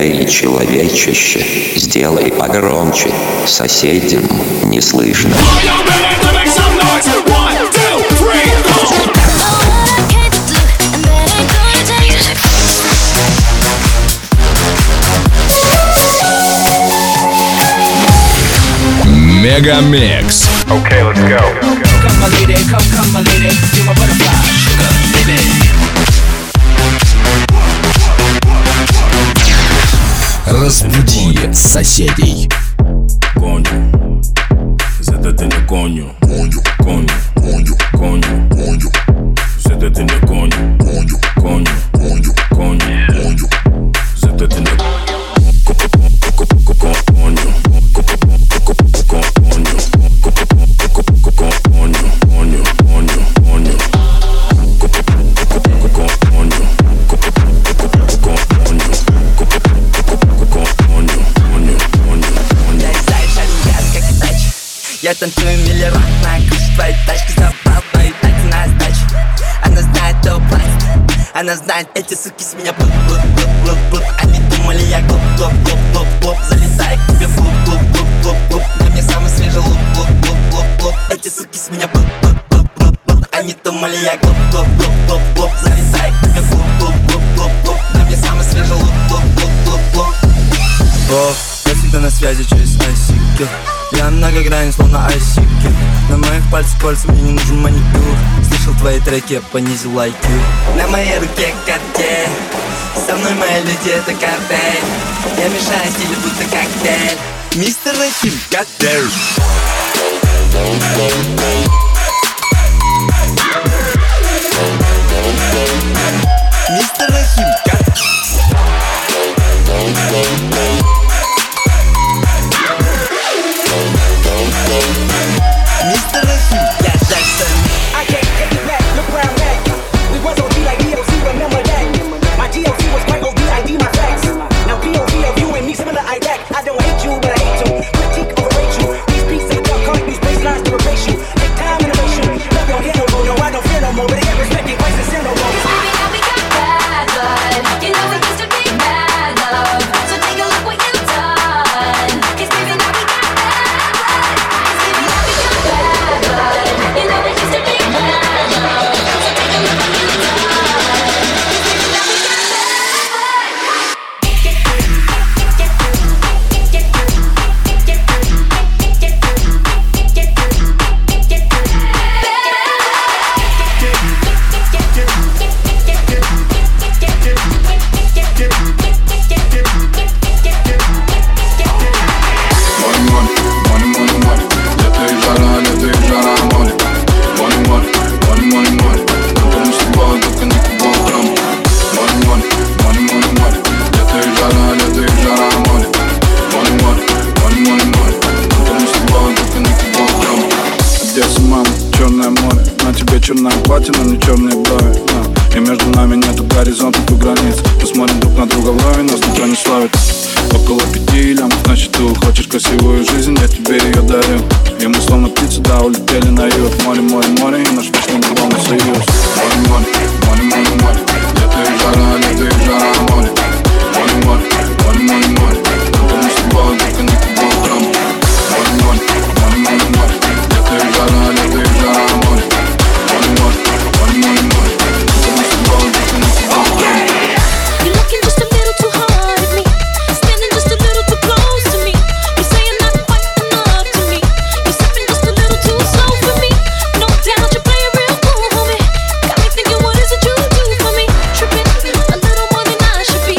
Эй, человечище, сделай погромче, соседям не слышно. Мегамикс. Okay, let's go. Come my lady, come my lady, you're my butterfly, sugar, baby. Разбуди соседей. Coño, se te tiene coño. Coño, coño, coño, coño. Se te tiene coño. Coño, coño, coño, coño. Se te tiene coño. Я танцую миллион на крыше твоей тачки, забрал твои тайцы на сдачу. Она знает топ-лайст, она знает, эти суки с меня блуп-блуп-блуп-блуп-блуп. Они думали, я глуп-глуп-глуп-глуп-глуп. Залезай к тебе блуп-блуп-блуп-блуп-блуп. На мне самый свежий луп-блуп-блуп-блуп-блуп. Эти суки с меня блуп-блуп-блуп-блуп-блуп. Они думали, я глуп-глуп-глуп-глуп-глуп. Залезай к тебе блуп-блуп-блуп-блуп-блуп. На мне самый свежий луп-блуп-блуп-блуп-блуп. Я всегда на связи через ICQ. Я многогранен, словно ICQ. На моих пальцах кольца, мне не нужен маникюр. Слышал твои треки, я понизил IQ. На моей руке Cartier. Со мной мои люди, это картель. Я мешаю стилю, будто коктейль. Мистер Рахим, коктейль. Мистер Рахим, коктейль. Mr. Rashid, yeah, that's it. I can't take it back, look where I'm at. We was OG like DOC, remember that. My GOC was quite OD, ID my facts. Now POV of you and me, similar Iraq. I don't hate you, but I hate you. Critique, overrate you. These beats in the dark, can't use baselines to replace you. Take time, innovation. Love don't hit no more, no, I don't fear no more. But they get respected, vice and sin no more. Baby, now we got bad blood. You know we used to be mad love. So take a look what you've done. 'Cause baby, now we got bad blood. 'Cause baby, now we got bad blood. You know we used to be mad love. So take a look what you've done. 'Cause baby, now we got черная платье, но не черные брови, и между нами нету горизонтов и границ. Мы смотрим друг на друга в лаве, нас никто не славит. Около 5 лямов, значит ты хочешь красивую жизнь, я тебе ее дарю. И мы словно птицы, да, улетели на юг. Море, море, море, и наш вечный главный союз. Море, море, море, море, море. Лето и жара, лето и жара, море. Море, море, море, море, море. Только мы с тобой, только не тобой утром. Море, море, море, море, море. Лето и жара, лето и жара, море. Море, море, море, море, море. Только мы с тобой, только не тобой утром. You're looking just a little too hard at me, standing just a little too close to me. You're saying not quite enough to me. You're stepping just a little too slow for me. No doubt you play it real cool, homie. Got me thinking, what is it you do for me? Tripping a little more than I should be.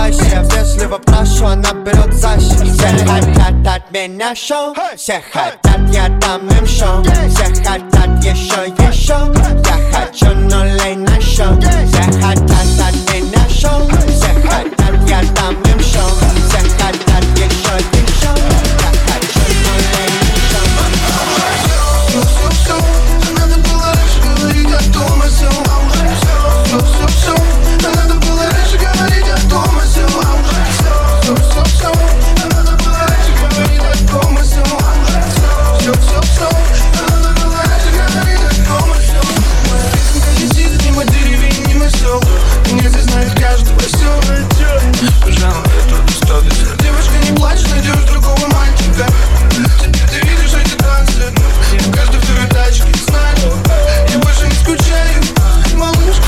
улыбайся. Вежливо прошу, она берет защиту. Все хотят от меня шоу, все хотят, я дам им шоу. Все хотят еще. Я хочу нулей на шоу. Все хотят от меня шоу, все хотят, я дам им шоу. Все хотят еще. Я хочу нулей на шоу. Все, надо было раньше говорить о том и сём. Все, надо было раньше говорить о том и сём. Все, надо было раньше говорить о том и сём. Все, надо было раньше говорить о том и сём. Моя песенка летит мимо деревень, мимо сел. Меня здесь знает каждого сел. Пожалуй, это достаточно. Девушка, не плачь, найдешь другого мальчика. Теперь ты видишь эти танцы. Каждый второй тачке знает. Я больше не скучаю, малышка.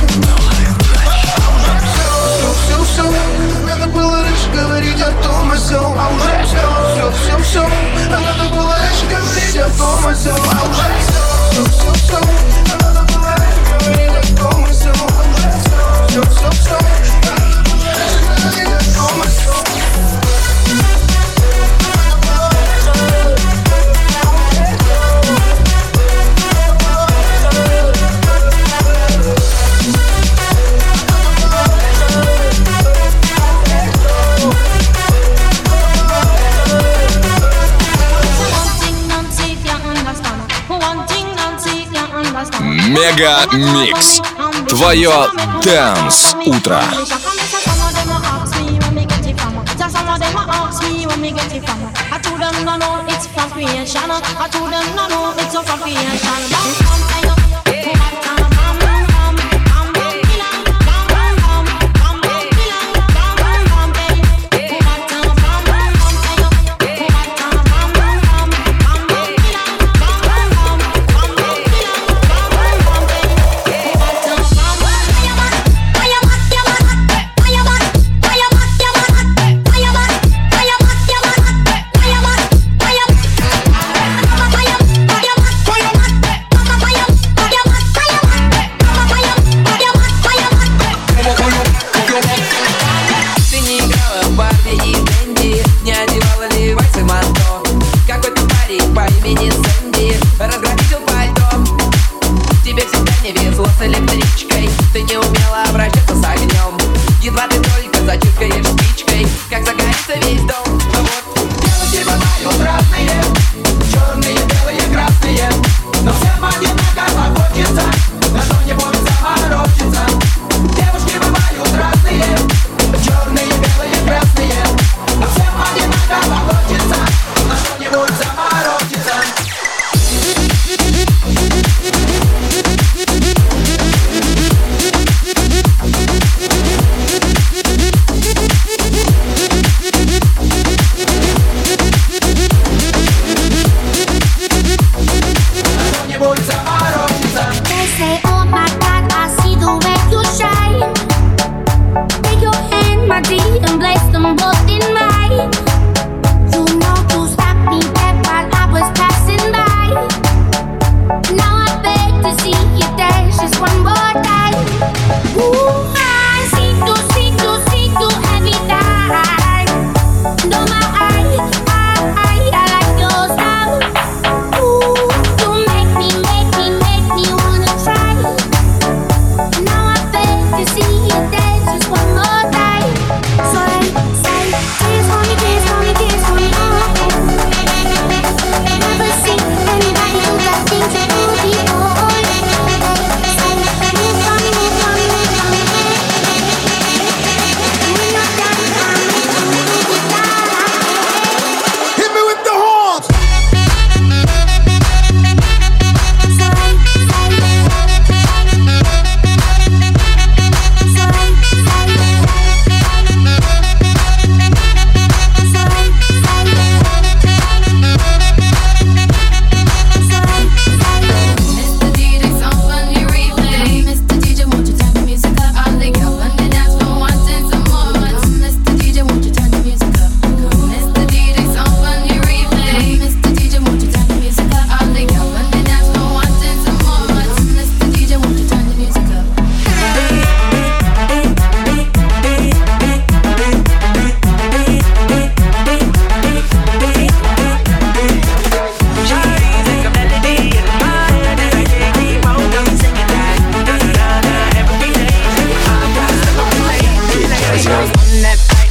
Все, надо было раньше говорить о том и сём. А уже все, надо было раньше говорить о том и сём. А уже все, надо было раньше говорить о том и сём. Все, надо было раньше говорить о том и сём. Мега Микс. Твое Dance утро.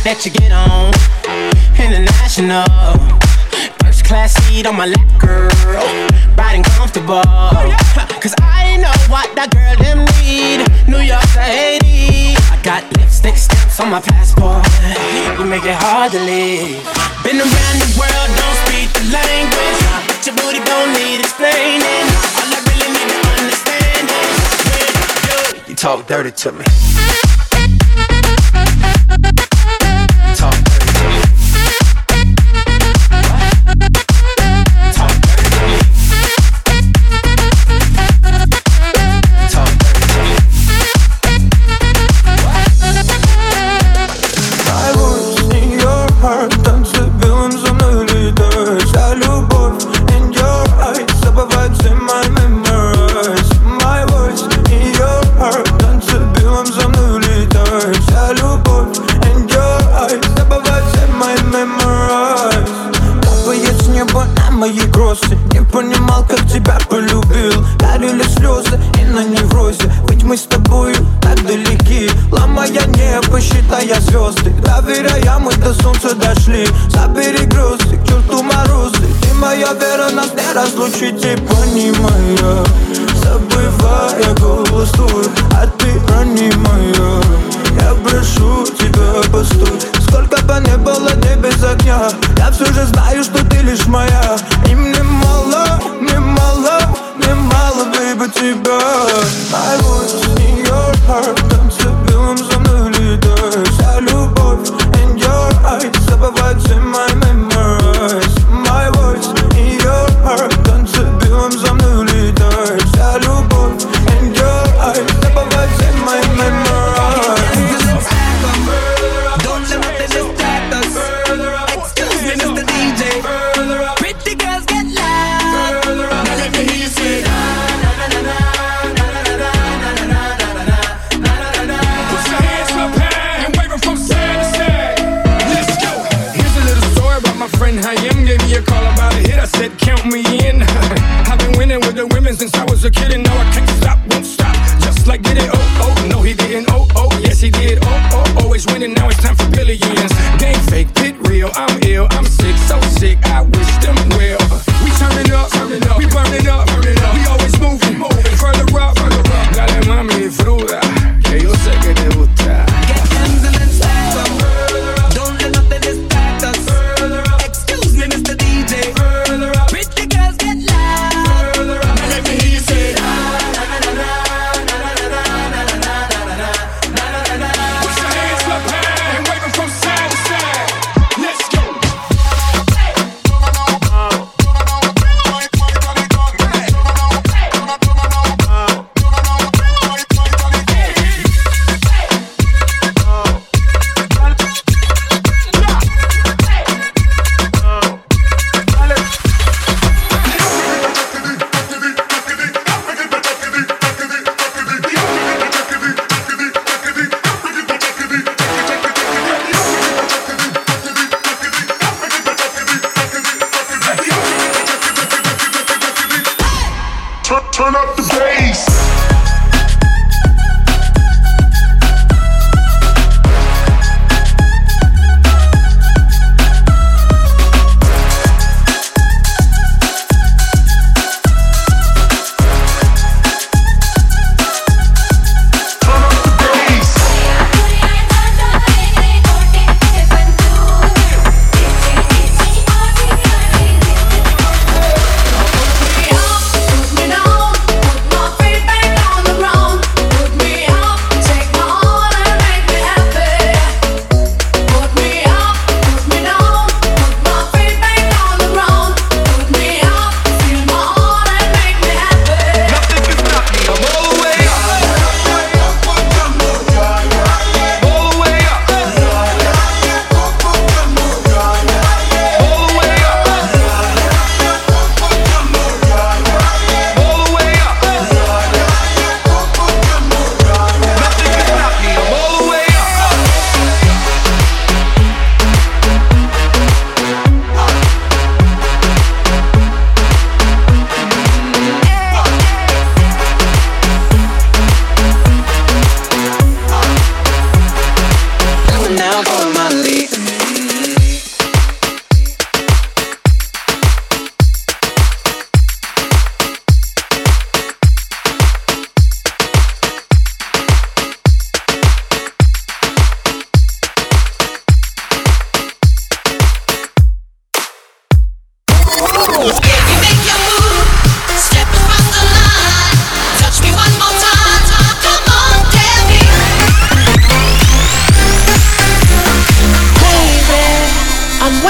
that you get on. International, first class seat on my lap, girl. Riding comfortable, cause I know what that girl them need. New York to Haiti, I got lipstick stamps on my passport. You make it hard to leave. Been around the world, don't speak the language. Your booty don't need explaining. All I really need to understand is you talk dirty to me. Talk dirty to me. Talk dirty to me. Talk dirty to me. My voice in your heart, танцевым за мной летаешь. Вся любовь in your eyes, забывать все my memories. My voice in your heart, танцевым за мной летаешь. Вся любовь in your eyes, забывать все my memories. Капает с неба на мои кроссы. Не понимал, как тебя полюбил. Горели слезы и на неврозе. Ведь мы с тобою так далеки. Ломая небо, считая звезды. Доверяя, мы до солнца дошли. Забери грузы, к черту морозы. Ты моя вера, нас не разлучить. И понимая, забывая голос твой. А ты ранимая, я прошу тебя, постой. Сколько бы не было дней без огня, я все же знаю, что ты лишь моя. И мне мало, мне мало, мне мало, baby, тебя. My voice in your heart, танцевым за мной летаешь. Вся любовь in your eyes, забывать все my memories. My voice in your heart, танцевым за мной летаешь. Вся любовь in your eyes, забывать все my memories. Don't let nothing distract us. Excuse me, Mr. DJ. Pretty girls get loud. Now let me hear you say na na na na na na na na na na. Put your hands up high and wave 'em from side to side. Let's go. Here's a little story about my friend Hayem. Gave me a call about a hit. I said, count me in. I've been winning with the women since I was a kid, and now I can't stop, won't stop. Just like did it, oh, oh, no he didn't, oh, oh, yes he did, oh, oh, always winning, now it's time for billions. Game fake, pit real, I'm ill, I'm sick, so sick, I wish them well. We turning up, we burning up, we always moving, further up, dale mami, fruta, que yo sé que te gusta. Get hands and then stack up. Don't let nothing distract us. Excuse me, Mr. DJ. Pretty girls get loud. Now let me hear you say na na na na na na na na. Put your hands up high and wave 'em from side to side. Let's go.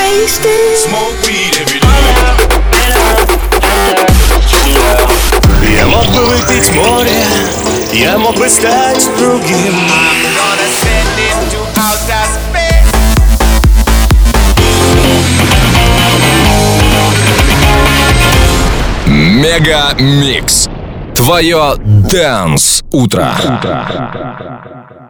wasted. Smoke weed every day. Я мог бы выпить море, я мог бы стать другим. Мега Микс. Твое Dance утро.